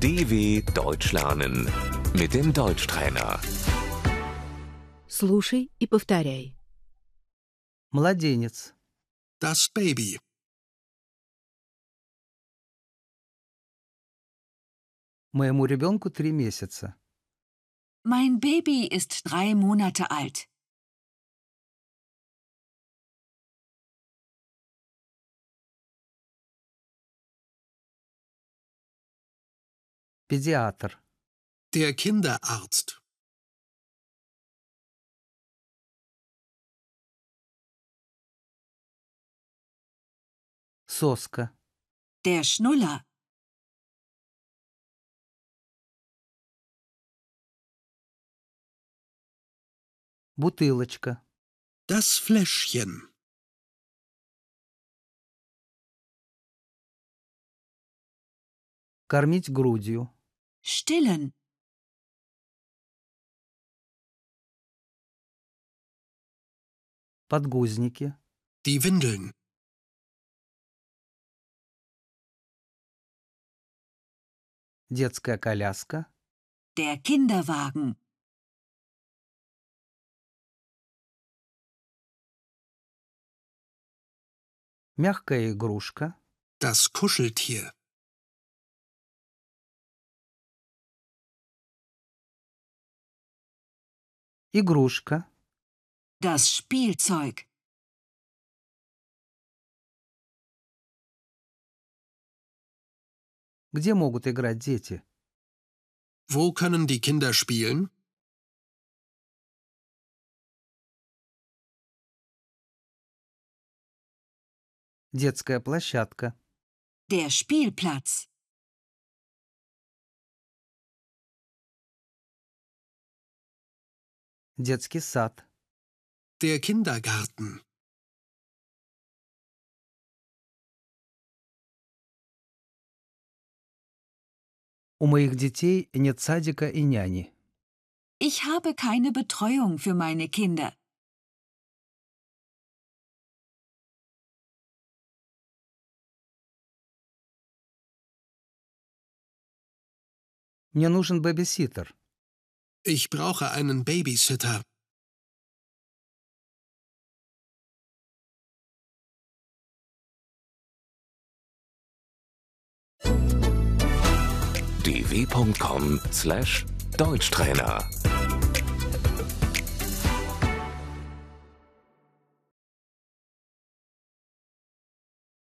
DW Deutsch lernen mit dem Deutschtrainer. Слушай и повторяй. Младенец. Das Baby. Моему ребенку 3 месяца. Mein Baby ist 3 Monate alt. Педиатр. Der Kinderarzt. Соска. Der Schnuller. Бутылочка. Das Fläschchen. Кормить грудью. Stillen. Подгузники. Die Windeln. Детская коляска. Der Kinderwagen. Мягкая игрушка. Das Kuscheltier. Игрушка. Das Spielzeug. Где могут играть дети? Wo können die Kinder spielen? Детская площадка. Der Spielplatz. Детский сад. Der Kindergarten. У моих детей нет садика и няни. Ich habe keine Betreuung für meine Kinder. Мне нужен бэбиситер. Ich brauche einen Babysitter. dw.com/Deutschtrainer